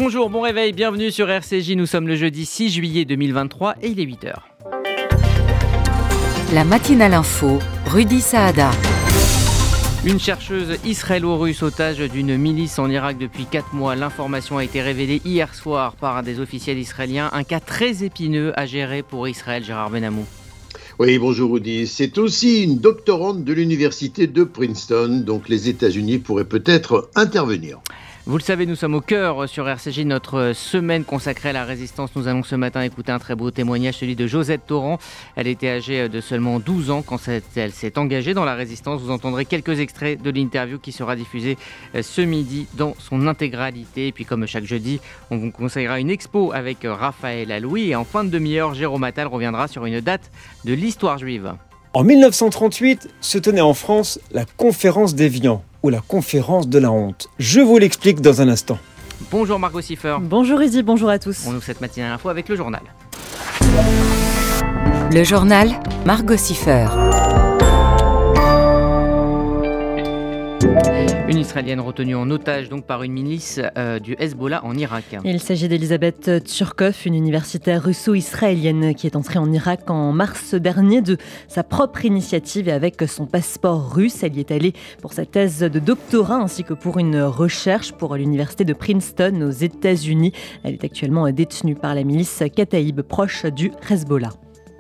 Bonjour, bon réveil, bienvenue sur RCJ. Nous sommes le jeudi 6 juillet 2023 et il est 8h. La matinale info, Rudy Saada. Une chercheuse israélo-russe otage d'une milice en Irak depuis 4 mois. L'information a été révélée hier soir par des officiels israéliens. Un cas très épineux à gérer pour Israël, Gérard Benamou. Oui, bonjour Rudy. C'est aussi une doctorante de l'université de Princeton, donc les États-Unis pourraient peut-être intervenir. Vous le savez, nous sommes au cœur sur RCJ, notre semaine consacrée à la résistance. Nous allons ce matin écouter un très beau témoignage, celui de Josette Torrent. Elle était âgée de seulement 12 ans quand elle s'est engagée dans la résistance. Vous entendrez quelques extraits de l'interview qui sera diffusée ce midi dans son intégralité. Et puis comme chaque jeudi, on vous conseillera une expo avec Raphaël Allouy. Et en fin de demi-heure, Jérôme Attal reviendra sur une date de l'histoire juive. En 1938, se tenait en France la conférence d'Évian, ou la conférence de la honte. Je vous l'explique dans un instant. Bonjour Margot Siffer. Bonjour Rudy, bonjour à tous. On ouvre cette matinale info avec le journal. Le journal, Margot Siffer. Une Israélienne retenue en otage donc par une milice du Hezbollah en Irak. Il s'agit d'Elisabeth Tchurkov, une universitaire russo-israélienne qui est entrée en Irak en mars dernier de sa propre initiative et avec son passeport russe. Elle y est allée pour sa thèse de doctorat ainsi que pour une recherche pour l'université de Princeton aux États-Unis. Elle est actuellement détenue par la milice Kataïb, proche du Hezbollah.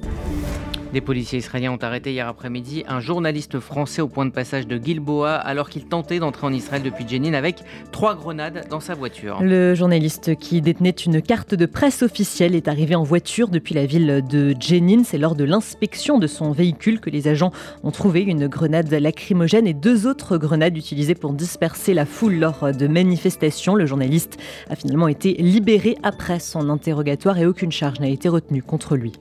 Des policiers israéliens ont arrêté hier après-midi un journaliste français au point de passage de Gilboa alors qu'il tentait d'entrer en Israël depuis Jenin avec 3 grenades dans sa voiture. Le journaliste qui détenait une carte de presse officielle est arrivé en voiture depuis la ville de Jenin. C'est lors de l'inspection de son véhicule que les agents ont trouvé une grenade lacrymogène et 2 autres grenades utilisées pour disperser la foule lors de manifestations. Le journaliste a finalement été libéré après son interrogatoire et aucune charge n'a été retenue contre lui.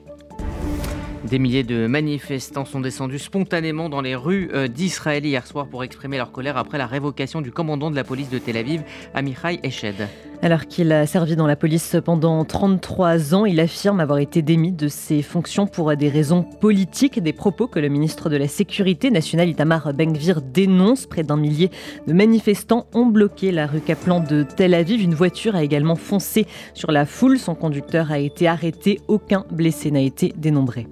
Des milliers de manifestants sont descendus spontanément dans les rues d'Israël hier soir pour exprimer leur colère après la révocation du commandant de la police de Tel Aviv, Amichai Eshed. Alors qu'il a servi dans la police pendant 33 ans, il affirme avoir été démis de ses fonctions pour des raisons politiques. Des propos que le ministre de la Sécurité nationale Itamar Ben-Gvir dénonce. Près d'1 millier de manifestants ont bloqué la rue Kaplan de Tel Aviv. Une voiture a également foncé sur la foule. Son conducteur a été arrêté. Aucun blessé n'a été dénombré.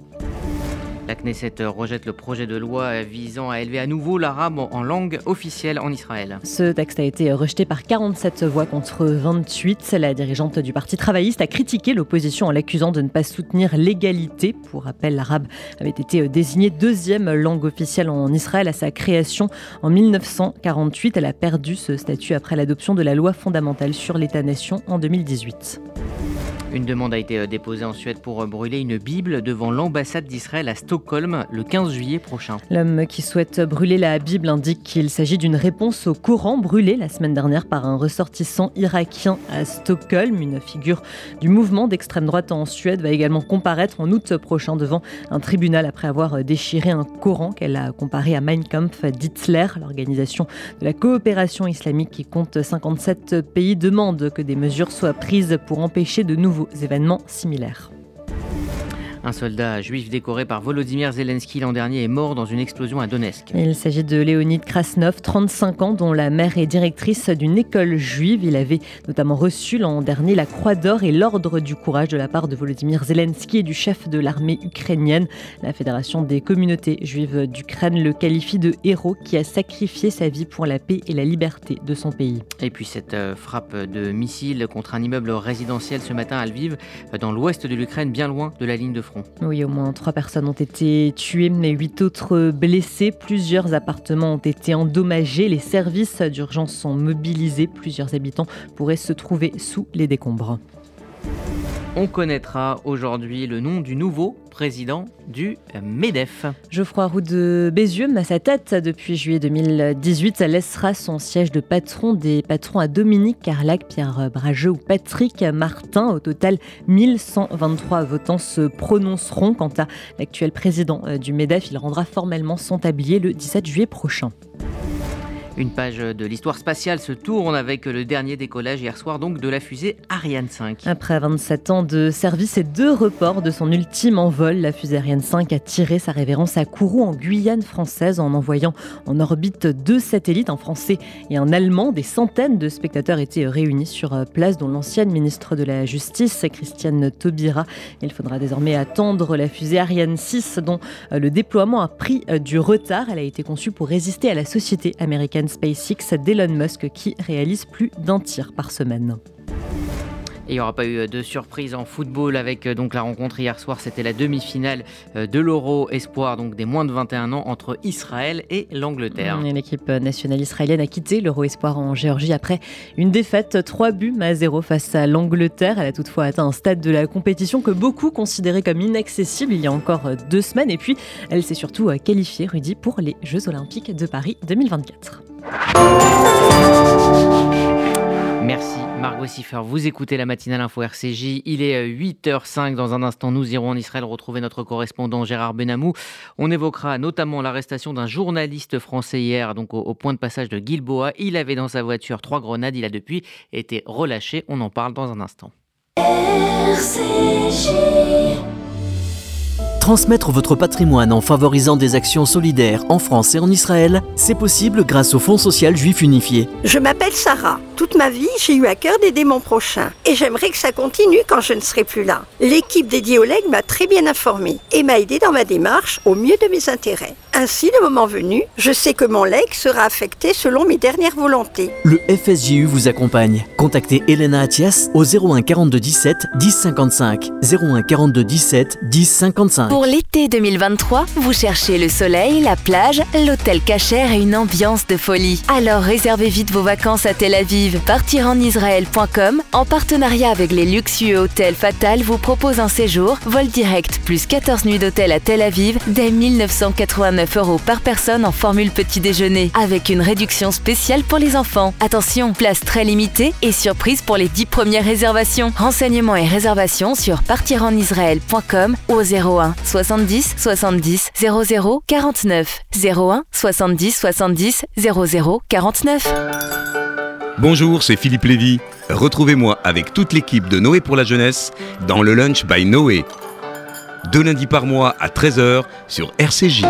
La Knesset rejette le projet de loi visant à élever à nouveau l'arabe en langue officielle en Israël. Ce texte a été rejeté par 47 voix contre 28. La dirigeante du Parti travailliste a critiqué l'opposition en l'accusant de ne pas soutenir l'égalité. Pour rappel, l'arabe avait été désignée 2e langue officielle en Israël à sa création en 1948. Elle a perdu ce statut après l'adoption de la loi fondamentale sur l'État-nation en 2018. Une demande a été déposée en Suède pour brûler une Bible devant l'ambassade d'Israël à Stockholm le 15 juillet prochain. L'homme qui souhaite brûler la Bible indique qu'il s'agit d'une réponse au Coran brûlé la semaine dernière par un ressortissant irakien à Stockholm. Une figure du mouvement d'extrême droite en Suède va également comparaître en août prochain devant un tribunal après avoir déchiré un Coran qu'elle a comparé à Mein Kampf d'Hitler. L'organisation de la coopération islamique qui compte 57 pays demande que des mesures soient prises pour empêcher de nouveaux événements similaires. Un soldat juif décoré par Volodymyr Zelensky l'an dernier est mort dans une explosion à Donetsk. Il s'agit de Léonid Krasnov, 35 ans, dont la mère est directrice d'une école juive. Il avait notamment reçu l'an dernier la Croix d'Or et l'Ordre du Courage de la part de Volodymyr Zelensky et du chef de l'armée ukrainienne. La Fédération des communautés juives d'Ukraine le qualifie de héros qui a sacrifié sa vie pour la paix et la liberté de son pays. Et puis cette frappe de missile contre un immeuble résidentiel ce matin à Lviv, dans l'ouest de l'Ukraine, bien loin de la ligne de front. Oui, au moins 3 personnes ont été tuées, mais 8 autres blessées. Plusieurs appartements ont été endommagés. Les services d'urgence sont mobilisés. Plusieurs habitants pourraient se trouver sous les décombres. On connaîtra aujourd'hui le nom du nouveau président du MEDEF. Geoffroy Roux de Bézieux, à sa tête depuis juillet 2018, laissera son siège de patron des patrons à Dominique Carlac, Pierre Brageux ou Patrick Martin. Au total, 1123 votants se prononceront. Quant à l'actuel président du MEDEF, il rendra formellement son tablier le 17 juillet prochain. Une page de l'histoire spatiale se tourne avec le dernier décollage hier soir donc de la fusée Ariane 5. Après 27 ans de service et 2 reports de son ultime envol, la fusée Ariane 5 a tiré sa révérence à Kourou en Guyane française en envoyant en orbite 2 satellites, un français et un allemand. Des centaines de spectateurs étaient réunis sur place, dont l'ancienne ministre de la Justice, Christiane Taubira. Il faudra désormais attendre la fusée Ariane 6 dont le déploiement a pris du retard. Elle a été conçue pour résister à la société américaine SpaceX d'Elon Musk qui réalise plus d'1 tir par semaine. Et il n'y aura pas eu de surprise en football avec donc la rencontre hier soir. C'était la demi-finale de l'Euro Espoir, donc des moins de 21 ans, entre Israël et l'Angleterre. Et l'équipe nationale israélienne a quitté l'Euro Espoir en Géorgie après une défaite 3-0 face à l'Angleterre. Elle a toutefois atteint un stade de la compétition que beaucoup considéraient comme inaccessible il y a encore 2 semaines. Et puis, elle s'est surtout qualifiée, Rudy, pour les Jeux Olympiques de Paris 2024. Merci Margot Siffer. Vous écoutez la matinale info RCJ. Il est 8h05. Dans un instant, nous irons en Israël retrouver notre correspondant Gérard Benamou. On évoquera notamment l'arrestation d'un journaliste français hier, donc au point de passage de Gilboa. Il avait dans sa voiture 3 grenades. Il a depuis été relâché. On en parle dans un instant. RCJ. Transmettre votre patrimoine en favorisant des actions solidaires en France et en Israël, c'est possible grâce au Fonds social juif unifié. Je m'appelle Sarah. Toute ma vie, j'ai eu à cœur d'aider mon prochain. Et j'aimerais que ça continue quand je ne serai plus là. L'équipe dédiée au legs m'a très bien informée et m'a aidée dans ma démarche au mieux de mes intérêts. Ainsi, le moment venu, je sais que mon legs sera affecté selon mes dernières volontés. Le FSJU vous accompagne. Contactez Elena Atias au 01 42 17 10 55. 01 42 17 10 55. Pour l'été 2023, vous cherchez le soleil, la plage, l'hôtel cachère et une ambiance de folie. Alors réservez vite vos vacances à Tel Aviv. Partirenisraël.com, en partenariat avec les luxueux hôtels Fatal, vous propose un séjour, vol direct, plus 14 nuits d'hôtel à Tel Aviv, dès 1 989 € par personne en formule petit déjeuner, avec une réduction spéciale pour les enfants. Attention, place très limitée et surprise pour les 10 premières réservations. Renseignements et réservations sur partirenisraël.com ou au 01 70 70 00 49. 01 70 70 00 49. Bonjour, c'est Philippe Lévy. Retrouvez-moi avec toute l'équipe de Noé pour la jeunesse dans le Lunch by Noé. 2 lundis par mois à 13h sur RCJ.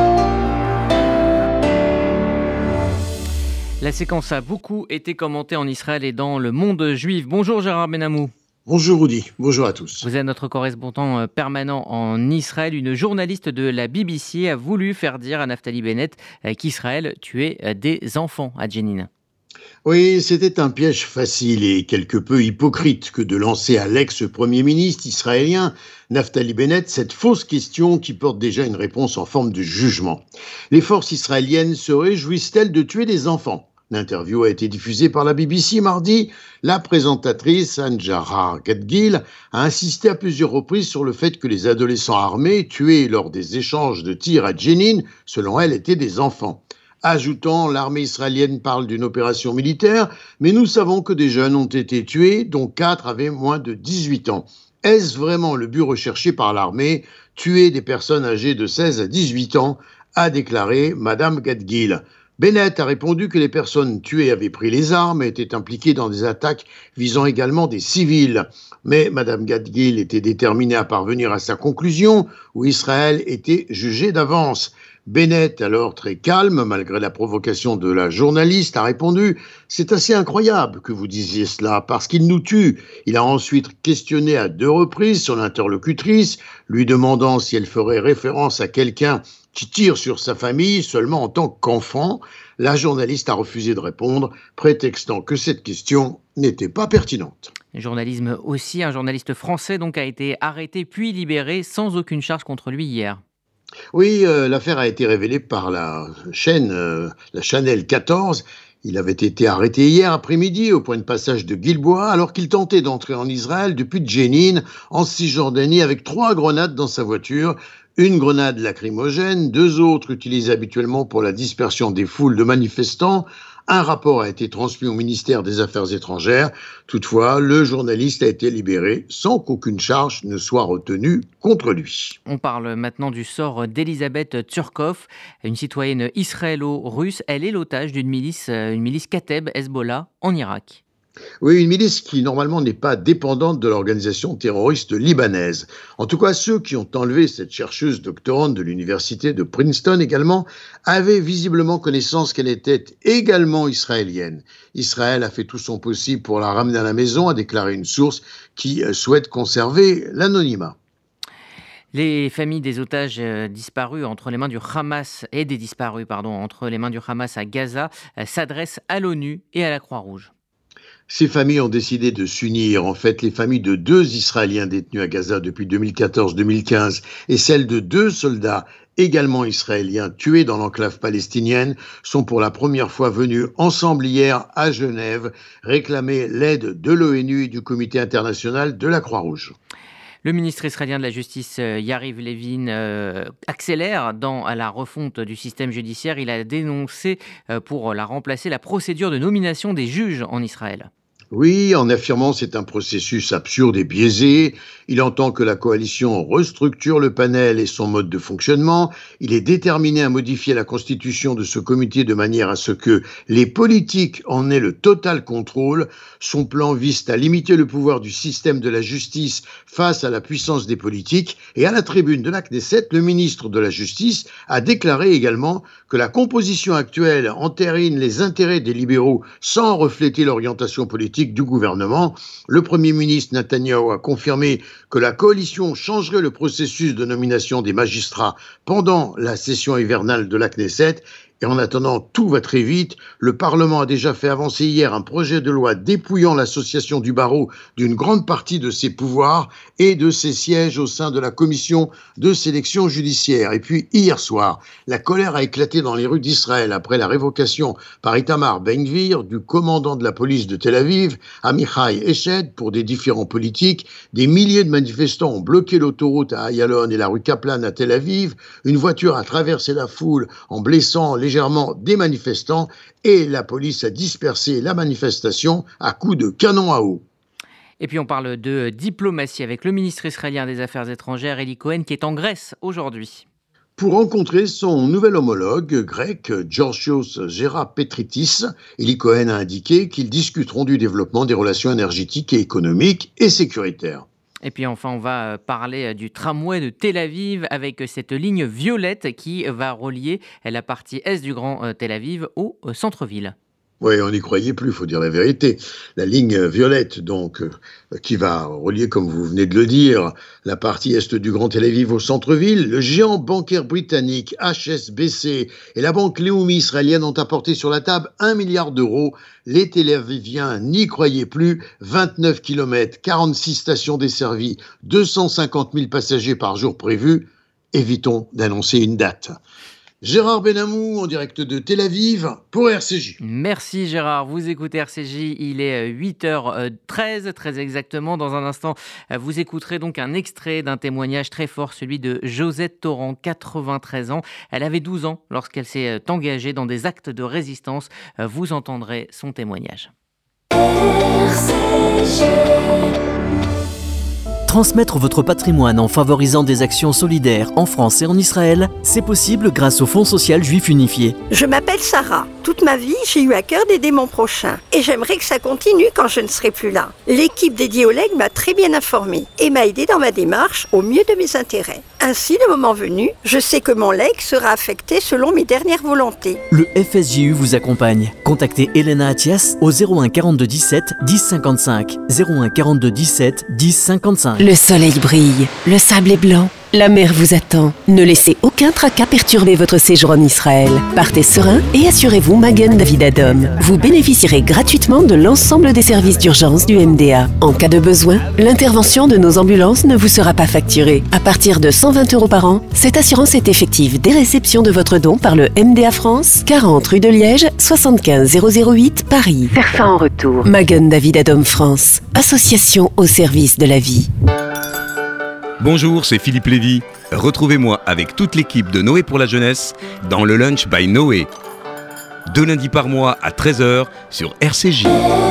La séquence a beaucoup été commentée en Israël et dans le monde juif. Bonjour Gérard Benamou. Bonjour Rudy, bonjour à tous. Vous êtes notre correspondant permanent en Israël. Une journaliste de la BBC a voulu faire dire à Naftali Bennett qu'Israël tuait des enfants à Jenin. Oui, c'était un piège facile et quelque peu hypocrite que de lancer à l'ex-premier ministre israélien Naftali Bennett cette fausse question qui porte déjà une réponse en forme de jugement. Les forces israéliennes se réjouissent-elles de tuer des enfants ? L'interview a été diffusée par la BBC mardi. La présentatrice Anjara Gadgil a insisté à plusieurs reprises sur le fait que les adolescents armés tués lors des échanges de tirs à Jenin, selon elle, étaient des enfants. Ajoutant, l'armée israélienne parle d'une opération militaire, mais nous savons que des jeunes ont été tués, dont 4 avaient moins de 18 ans. Est-ce vraiment le but recherché par l'armée, tuer des personnes âgées de 16 à 18 ans, a déclaré Madame Gadgil. Bennett a répondu que les personnes tuées avaient pris les armes et étaient impliquées dans des attaques visant également des civils. Mais Mme Gadgil était déterminée à parvenir à sa conclusion, où Israël était jugé d'avance. Bennett, alors très calme, malgré la provocation de la journaliste, a répondu « C'est assez incroyable que vous disiez cela, parce qu'il nous tue ». Il a ensuite questionné à 2 reprises son interlocutrice, lui demandant si elle ferait référence à quelqu'un qui tire sur sa famille seulement en tant qu'enfant. La journaliste a refusé de répondre, prétextant que cette question n'était pas pertinente. Journalisme aussi, un journaliste français donc a été arrêté puis libéré sans aucune charge contre lui hier. Oui, l'affaire a été révélée par la chaîne, la Channel 14. Il avait été arrêté hier après-midi au point de passage de Gilboa alors qu'il tentait d'entrer en Israël depuis Jenin, en Cisjordanie, avec 3 grenades dans sa voiture. Une grenade lacrymogène, 2 autres utilisées habituellement pour la dispersion des foules de manifestants, Un rapport a été transmis au ministère des Affaires étrangères. Toutefois, le journaliste a été libéré sans qu'aucune charge ne soit retenue contre lui. On parle maintenant du sort d'Elisabeth Tsurkov, une citoyenne israélo-russe. Elle est l'otage d'une milice Kateb Hezbollah en Irak. Oui, une milice qui normalement n'est pas dépendante de l'organisation terroriste libanaise. En tout cas, ceux qui ont enlevé cette chercheuse doctorante de l'université de Princeton également avaient visiblement connaissance qu'elle était également israélienne. Israël a fait tout son possible pour la ramener à la maison, a déclaré une source qui souhaite conserver l'anonymat. Les familles des otages disparus entre les mains du Hamas et des disparus, entre les mains du Hamas à Gaza s'adressent à l'ONU et à la Croix-Rouge. Ces familles ont décidé de s'unir. En fait, les familles de 2 Israéliens détenus à Gaza depuis 2014-2015 et celles de 2 soldats également israéliens tués dans l'enclave palestinienne sont pour la première fois venus ensemble hier à Genève réclamer l'aide de l'ONU et du Comité international de la Croix-Rouge. Le ministre israélien de la Justice, Yariv Levin, accélère dans la refonte du système judiciaire. Il a dénoncé pour la remplacer la procédure de nomination des juges en Israël. Oui, en affirmant c'est un processus absurde et biaisé. Il entend que la coalition restructure le panel et son mode de fonctionnement. Il est déterminé à modifier la constitution de ce comité de manière à ce que les politiques en aient le total contrôle. Son plan vise à limiter le pouvoir du système de la justice face à la puissance des politiques. Et à la tribune de la Knesset, le ministre de la Justice a déclaré également que la composition actuelle entérine les intérêts des libéraux sans refléter l'orientation politique du gouvernement. Le Premier ministre Netanyahou a confirmé que la coalition changerait le processus de nomination des magistrats pendant la session hivernale de la Knesset. Et en attendant, tout va très vite. Le Parlement a déjà fait avancer hier un projet de loi dépouillant l'association du barreau d'une grande partie de ses pouvoirs et de ses sièges au sein de la commission de sélection judiciaire. Et puis, hier soir, la colère a éclaté dans les rues d'Israël après la révocation par Itamar Ben-Gvir du commandant de la police de Tel Aviv, Amichai Eshed, pour des différends politiques. Des milliers de manifestants ont bloqué l'autoroute à Ayalon et la rue Kaplan à Tel Aviv. Une voiture a traversé la foule en blessant légèrement des manifestants et la police a dispersé la manifestation à coups de canon à eau. Et puis on parle de diplomatie avec le ministre israélien des Affaires étrangères, Eli Cohen, qui est en Grèce aujourd'hui. Pour rencontrer son nouvel homologue grec, Georgios Gerapetritis, Eli Cohen a indiqué qu'ils discuteront du développement des relations énergétiques et économiques et sécuritaires. Et puis enfin, on va parler du tramway de Tel Aviv avec cette ligne violette qui va relier la partie est du Grand Tel Aviv au centre-ville. Oui, on n'y croyait plus, il faut dire la vérité. La ligne violette, donc, qui va relier, comme vous venez de le dire, la partie est du Grand Tel Aviv au centre-ville. Le géant bancaire britannique HSBC et la banque Leumi israélienne ont apporté sur la table 1 milliard d'euros. Les Tel Aviviens n'y croyaient plus. 29 km, 46 stations desservies, 250 000 passagers par jour prévus. Évitons d'annoncer une date. Gérard Benamou en direct de Tel Aviv pour RCJ. Merci Gérard, vous écoutez RCJ, il est 8h13 très exactement. Dans un instant, vous écouterez donc un extrait d'un témoignage très fort, celui de Josette Torrent, 93 ans. Elle avait 12 ans lorsqu'elle s'est engagée dans des actes de résistance. Vous entendrez son témoignage. RCJ. Transmettre votre patrimoine en favorisant des actions solidaires en France et en Israël, c'est possible grâce au Fonds social juif unifié. Je m'appelle Sarah. Toute ma vie, j'ai eu à cœur d'aider mon prochain. Et j'aimerais que ça continue quand je ne serai plus là. L'équipe dédiée au legs m'a très bien informée et m'a aidée dans ma démarche au mieux de mes intérêts. Ainsi, le moment venu, je sais que mon legs sera affecté selon mes dernières volontés. Le FSJU vous accompagne. Contactez Elena Atias au 01 42 17 10 55. 01 42 17 10 55. Le soleil brille, le sable est blanc, la mer vous attend. Ne laissez aucun tracas perturber votre séjour en Israël. Partez serein et assurez-vous Magen David Adom. Vous bénéficierez gratuitement de l'ensemble des services d'urgence du MDA. En cas de besoin, l'intervention de nos ambulances ne vous sera pas facturée. À partir de 120 € par an, cette assurance est effective dès réception de votre don par le MDA France, 40 rue de Liège, 75 008 Paris. Faire en retour. Magen David Adom France, association au service de la vie. Bonjour, c'est Philippe Lévy. Retrouvez-moi avec toute l'équipe de Noé pour la jeunesse dans le Lunch by Noé. 2 lundis par mois à 13h sur RCJ.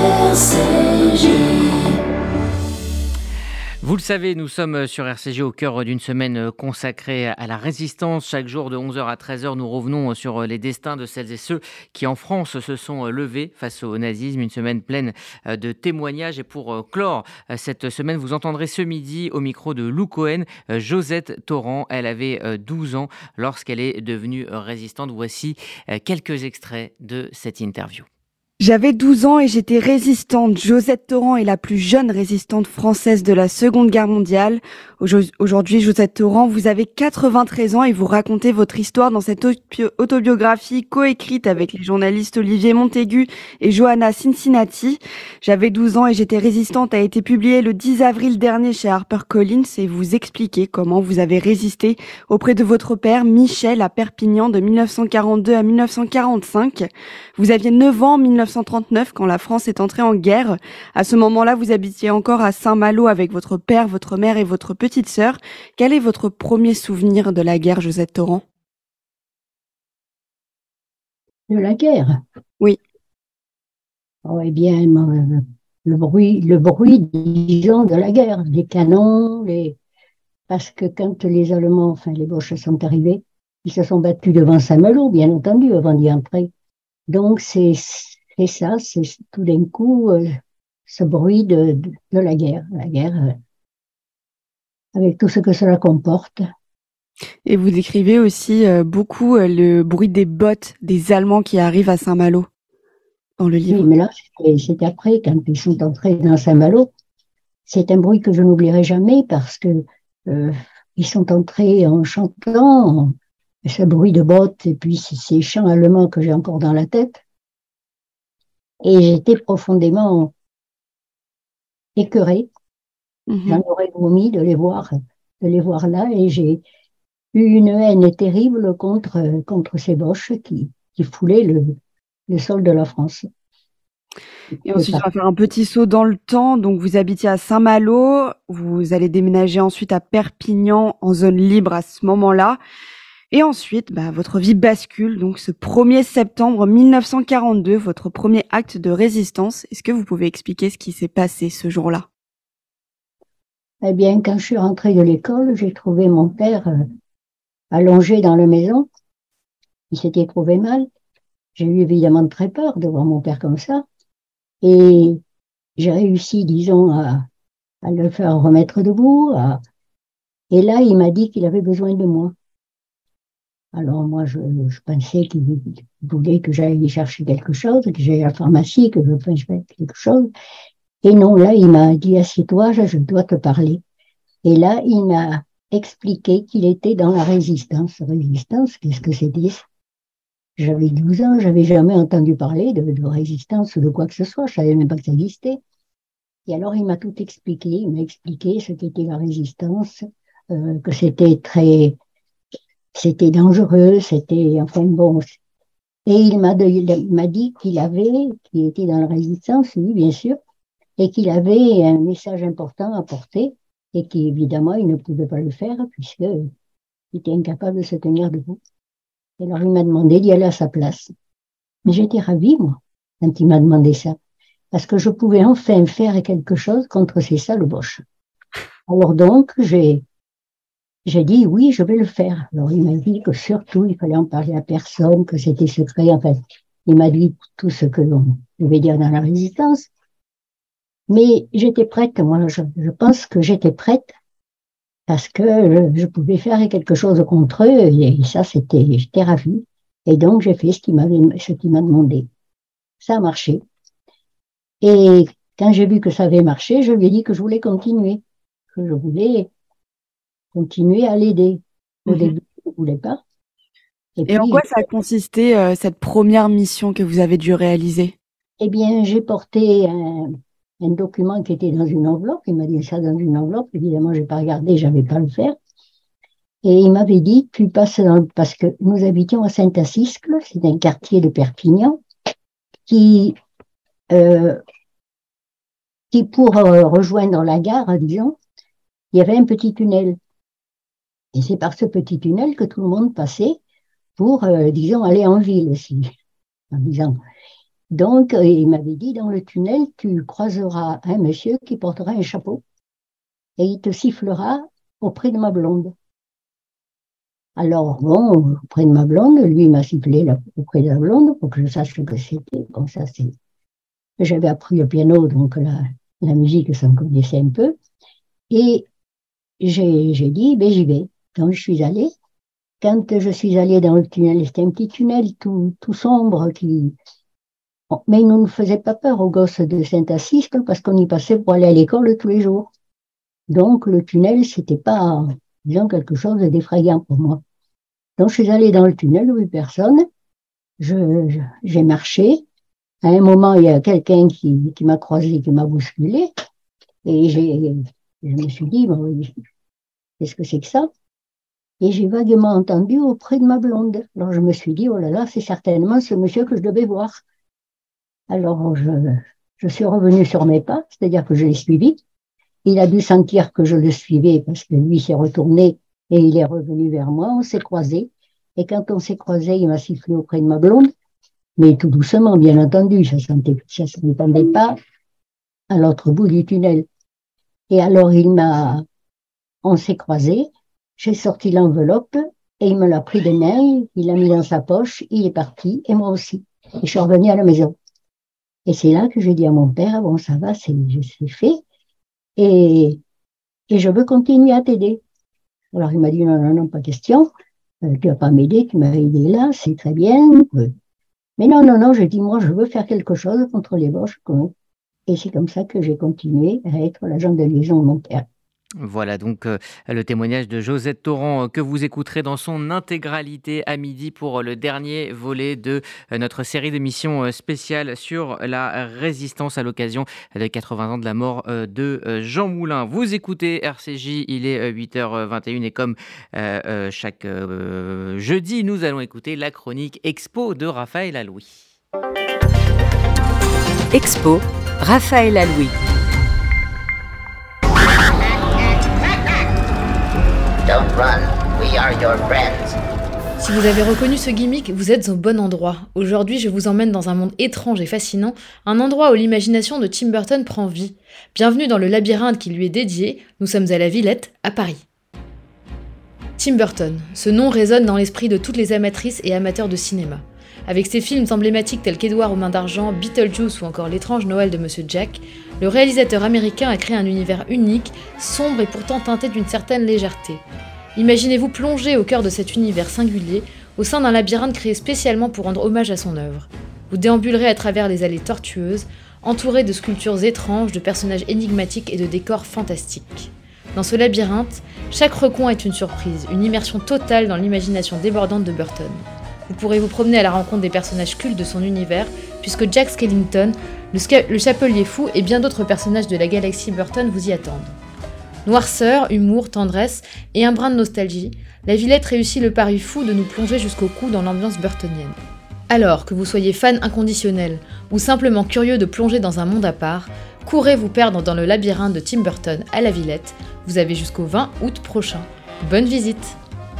Vous le savez, nous sommes sur RCJ au cœur d'une semaine consacrée à la résistance. Chaque jour de 11h à 13h, nous revenons sur les destins de celles et ceux qui en France se sont levés face au nazisme. Une semaine pleine de témoignages. Et pour clore cette semaine, vous entendrez ce midi au micro de Lou Cohen, Josette Torrent. Elle avait 12 ans lorsqu'elle est devenue résistante. Voici quelques extraits de cette interview. J'avais 12 ans et j'étais résistante. Josette Torrent est la plus jeune résistante française de la Seconde Guerre mondiale. Aujourd'hui, Josette Torrent, vous avez 93 ans et vous racontez votre histoire dans cette autobiographie coécrite avec les journalistes Olivier Montaigu et Johanna Cincinnati. J'avais 12 ans et j'étais résistante a été publiée le 10 avril dernier chez HarperCollins et vous expliquez comment vous avez résisté auprès de votre père Michel à Perpignan de 1942 à 1945. Vous aviez 9 ans en 1939 quand la France est entrée en guerre. À ce moment-là, vous habitiez encore à Saint-Malo avec votre père, votre mère et votre petite sœur. Quel est votre premier souvenir de la guerre, Josette Torrent ? De la guerre ? Oui. Oh, eh bien, le bruit, disons, de la guerre, les canons, parce que quand les Allemands, enfin les Boches sont arrivés, ils se sont battus devant Saint-Malo, bien entendu, avant d'y entrer. Donc, c'est ça, c'est tout d'un coup ce bruit de la guerre avec tout ce que cela comporte. Et vous décrivez aussi beaucoup le bruit des bottes des Allemands qui arrivent à Saint-Malo dans le livre. Oui, mais là, c'est après, quand ils sont entrés dans Saint-Malo. C'est un bruit que je n'oublierai jamais parce que ils sont entrés en chantant, ce bruit de bottes et puis ces chants allemands que j'ai encore dans la tête. Et j'étais profondément écœurée. J'en aurais vomi de les voir là, et j'ai eu une haine terrible contre ces Boches qui foulaient le sol de la France. Et ensuite, on va faire un petit saut dans le temps. Donc, vous habitiez à Saint-Malo, vous allez déménager ensuite à Perpignan en zone libre à ce moment-là. Et ensuite, votre vie bascule. Donc, ce 1er septembre 1942, votre premier acte de résistance. Est-ce que vous pouvez expliquer ce qui s'est passé ce jour-là ? Eh bien, quand je suis rentrée de l'école, j'ai trouvé mon père allongé dans la maison. Il s'était trouvé mal. J'ai eu évidemment très peur de voir mon père comme ça. Et j'ai réussi, disons, à le faire remettre debout. Et là, il m'a dit qu'il avait besoin de moi. Alors moi, je pensais qu'il voulait que j'aille chercher quelque chose, que j'aille à la pharmacie, que je fasse quelque chose. Et non, là, il m'a dit, assieds-toi, je dois te parler. Et là, il m'a expliqué qu'il était dans la résistance. Résistance, qu'est-ce que c'était ? J'avais 12 ans, j'avais jamais entendu parler de résistance ou de quoi que ce soit, je savais même pas que ça existait. Et alors, il m'a tout expliqué, il m'a expliqué ce qu'était la résistance, que c'était dangereux, enfin bon. Et il m'a dit qu'il était dans la résistance, oui, bien sûr, et qu'il avait un message important à porter, et qu'évidemment, il ne pouvait pas le faire, puisqu'il était incapable de se tenir debout. Et alors, il m'a demandé d'y aller à sa place. Mais j'étais ravie, moi, quand il m'a demandé ça, parce que je pouvais enfin faire quelque chose contre ces sales Boches. Alors donc, j'ai dit oui, je vais le faire. Alors il m'a dit que surtout, il fallait en parler à personne, que c'était secret. Enfin, il m'a dit tout ce que l'on devait dire dans la résistance. Mais j'étais prête, moi, je pense que j'étais prête parce que je pouvais faire quelque chose contre eux et ça, j'étais ravie. Et donc, j'ai fait ce qu'il m'a demandé. Ça a marché. Et quand j'ai vu que ça avait marché, je lui ai dit que je voulais continuer, que je voulais continuer à l'aider. Au début, je ne voulais pas. Et puis, en quoi ça a consisté, cette première mission que vous avez dû réaliser ? Eh bien, j'ai porté un document qui était dans une enveloppe. Il m'a dit ça dans une enveloppe. Évidemment, je n'ai pas regardé, je n'avais pas à le faire. Et il m'avait dit, tu passes parce que nous habitions à Saint-Assiscle, c'est un quartier de Perpignan, qui pour rejoindre la gare, disons, il y avait un petit tunnel. Et c'est par ce petit tunnel que tout le monde passait pour, disons, aller en ville aussi. en disant. Donc, il m'avait dit, dans le tunnel, tu croiseras un monsieur qui portera un chapeau et il te sifflera auprès de ma blonde. Alors, bon, auprès de ma blonde, lui, il m'a sifflé auprès de la blonde pour que je sache ce que c'était. Bon, ça, c'est... J'avais appris le piano, donc la musique, ça me connaissait un peu. Et j'ai dit, ben, j'y vais. Donc, je suis allée. Quand je suis allée dans le tunnel, c'était un petit tunnel tout sombre qui... Bon, mais il ne nous faisait pas peur aux gosses de Saint-Assist parce qu'on y passait pour aller à l'école tous les jours. Donc, le tunnel, c'était pas, disons, quelque chose d'effrayant pour moi. Donc, je suis allée dans le tunnel, où personne. J'ai marché. À un moment, il y a quelqu'un qui m'a croisé, qui m'a bousculé. Et je me suis dit, bon, qu'est-ce que c'est que ça? Et j'ai vaguement entendu auprès de ma blonde. Alors, je me suis dit, oh là là, c'est certainement ce monsieur que je devais voir. Alors, je suis revenue sur mes pas, c'est-à-dire que je l'ai suivi. Il a dû sentir que je le suivais parce que lui s'est retourné et il est revenu vers moi. On s'est croisés. Et quand on s'est croisés, il m'a sifflé auprès de ma blonde, mais tout doucement, bien entendu. Ça ne m'entendait pas à l'autre bout du tunnel. Et alors, on s'est croisés. J'ai sorti l'enveloppe et il me l'a pris des mains. Il l'a mis dans sa poche. Il est parti et moi aussi. Et je suis revenue à la maison. Et c'est là que j'ai dit à mon père, bon, ça va, c'est fait. Et je veux continuer à t'aider. Alors, il m'a dit, non, pas question. Tu vas pas m'aider, tu m'as aidé là, c'est très bien. Mais non, je dis, moi, je veux faire quelque chose contre les Boches. Et c'est comme ça que j'ai continué à être l'agent de liaison de mon père. Voilà donc le témoignage de Josette Torrent que vous écouterez dans son intégralité à midi pour le dernier volet de notre série d'émissions spéciales sur la résistance à l'occasion de 80 ans de la mort de Jean Moulin. Vous écoutez RCJ, il est 8h21 et comme chaque jeudi, nous allons écouter la chronique Expo de Raphaël Allouy. Expo, Raphaël Allouy. Don't run, we are your friends. Si vous avez reconnu ce gimmick, vous êtes au bon endroit. Aujourd'hui, je vous emmène dans un monde étrange et fascinant, un endroit où l'imagination de Tim Burton prend vie. Bienvenue dans le labyrinthe qui lui est dédié, nous sommes à la Villette, à Paris. Tim Burton, ce nom résonne dans l'esprit de toutes les amatrices et amateurs de cinéma. Avec ses films emblématiques tels qu'Édouard aux mains d'argent, Beetlejuice ou encore L'étrange Noël de Monsieur Jack, le réalisateur américain a créé un univers unique, sombre et pourtant teinté d'une certaine légèreté. Imaginez-vous plonger au cœur de cet univers singulier, au sein d'un labyrinthe créé spécialement pour rendre hommage à son œuvre. Vous déambulerez à travers les allées tortueuses, entourées de sculptures étranges, de personnages énigmatiques et de décors fantastiques. Dans ce labyrinthe, chaque recoin est une surprise, une immersion totale dans l'imagination débordante de Burton. Vous pourrez vous promener à la rencontre des personnages cultes de son univers, puisque Jack Skellington, le Chapelier Fou et bien d'autres personnages de la galaxie Burton vous y attendent. Noirceur, humour, tendresse et un brin de nostalgie, la Villette réussit le pari fou de nous plonger jusqu'au cou dans l'ambiance burtonienne. Alors que vous soyez fan inconditionnel ou simplement curieux de plonger dans un monde à part, courez vous perdre dans le labyrinthe de Tim Burton à la Villette. Vous avez jusqu'au 20 août prochain. Bonne visite!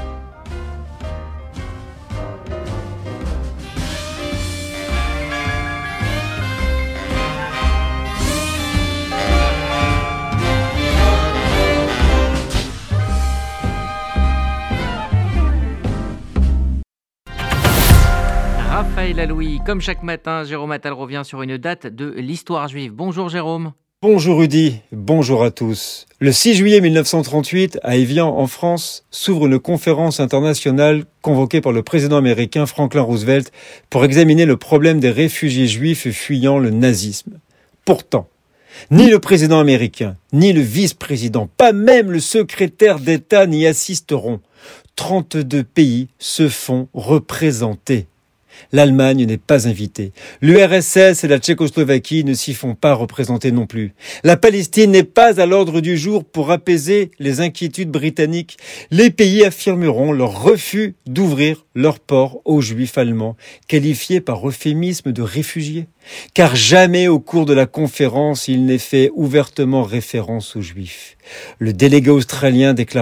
Raphaël Allouy, comme chaque matin, Jérôme Attal revient sur une date de l'histoire juive. Bonjour Jérôme. Bonjour Rudy, bonjour à tous. Le 6 juillet 1938, à Évian, en France, s'ouvre une conférence internationale convoquée par le président américain Franklin Roosevelt pour examiner le problème des réfugiés juifs fuyant le nazisme. Pourtant, ni le président américain, ni le vice-président, pas même le secrétaire d'État n'y assisteront. 32 pays se font représenter. L'Allemagne n'est pas invitée. L'URSS et la Tchécoslovaquie ne s'y font pas représenter non plus. La Palestine n'est pas à l'ordre du jour pour apaiser les inquiétudes britanniques. Les pays affirmeront leur refus d'ouvrir leurs ports aux Juifs allemands, qualifiés par euphémisme de réfugiés. Car jamais au cours de la conférence il n'est fait ouvertement référence aux Juifs. Le délégué australien déclara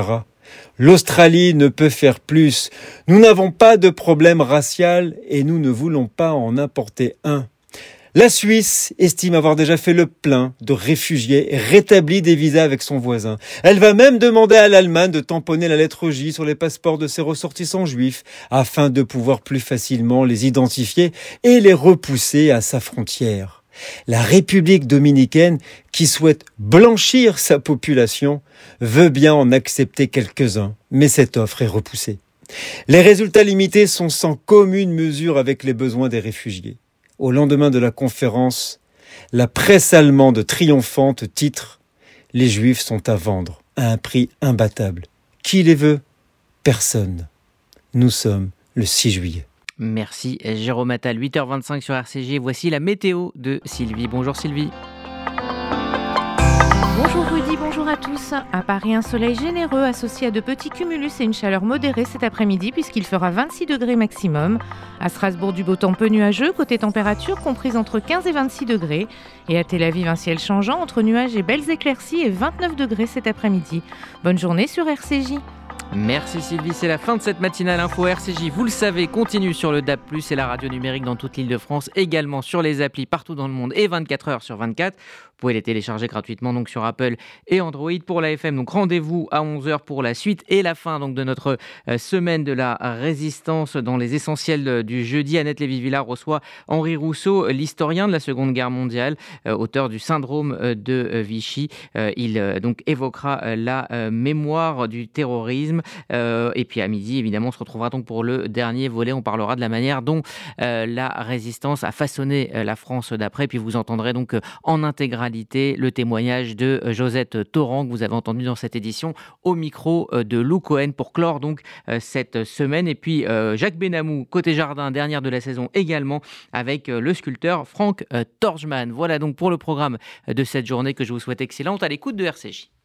L'Australie ne peut faire plus. Nous n'avons pas de problème racial et nous ne voulons pas en importer un. La Suisse estime avoir déjà fait le plein de réfugiés et rétabli des visas avec son voisin. Elle va même demander à l'Allemagne de tamponner la lettre J sur les passeports de ses ressortissants juifs afin de pouvoir plus facilement les identifier et les repousser à sa frontière. La République dominicaine, qui souhaite blanchir sa population, veut bien en accepter quelques-uns, mais cette offre est repoussée. Les résultats limités sont sans commune mesure avec les besoins des réfugiés. Au lendemain de la conférence, la presse allemande triomphante titre « Les Juifs sont à vendre à un prix imbattable. Qui les veut ? Personne. » Nous sommes le 6 juillet. Merci Jérôme Attal, 8h25 sur RCJ. Voici la météo de Sylvie. Bonjour Sylvie. Bonjour Rudy, bonjour à tous. À Paris, un soleil généreux associé à de petits cumulus et une chaleur modérée cet après-midi puisqu'il fera 26 degrés maximum. À Strasbourg, du beau temps peu nuageux, côté température comprise entre 15 et 26 degrés. Et à Tel Aviv, un ciel changeant entre nuages et belles éclaircies et 29 degrés cet après-midi. Bonne journée sur RCJ. Merci Sylvie, c'est la fin de cette matinale info RCJ. Vous le savez, continue sur le DAB+, et la radio numérique dans toute l'Île-de-France, également sur les applis partout dans le monde et 24 heures sur 24. Vous pouvez les télécharger gratuitement donc sur Apple et Android pour la FM. Donc rendez-vous à 11h pour la suite et la fin donc de notre semaine de la résistance dans les essentiels du jeudi. Annette Lévy-Villard reçoit Henri Rousseau, l'historien de la Seconde Guerre mondiale, auteur du syndrome de Vichy. Il donc évoquera la mémoire du terrorisme. Et puis à midi, évidemment, on se retrouvera donc pour le dernier volet. On parlera de la manière dont la résistance a façonné la France d'après. Puis vous entendrez donc en intégralité le témoignage de Josette Torrent que vous avez entendu dans cette édition au micro de Lou Cohen pour clore donc cette semaine. Et puis Jacques Benamou, côté jardin, dernière de la saison également avec le sculpteur Franck Torgman. Voilà donc pour le programme de cette journée que je vous souhaite excellente à l'écoute de RCJ.